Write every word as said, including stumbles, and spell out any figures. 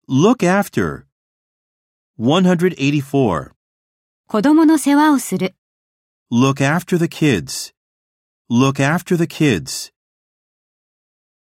Look after. one eighty-four. 子供の世話をする。 Look after the kids. Look after the kids.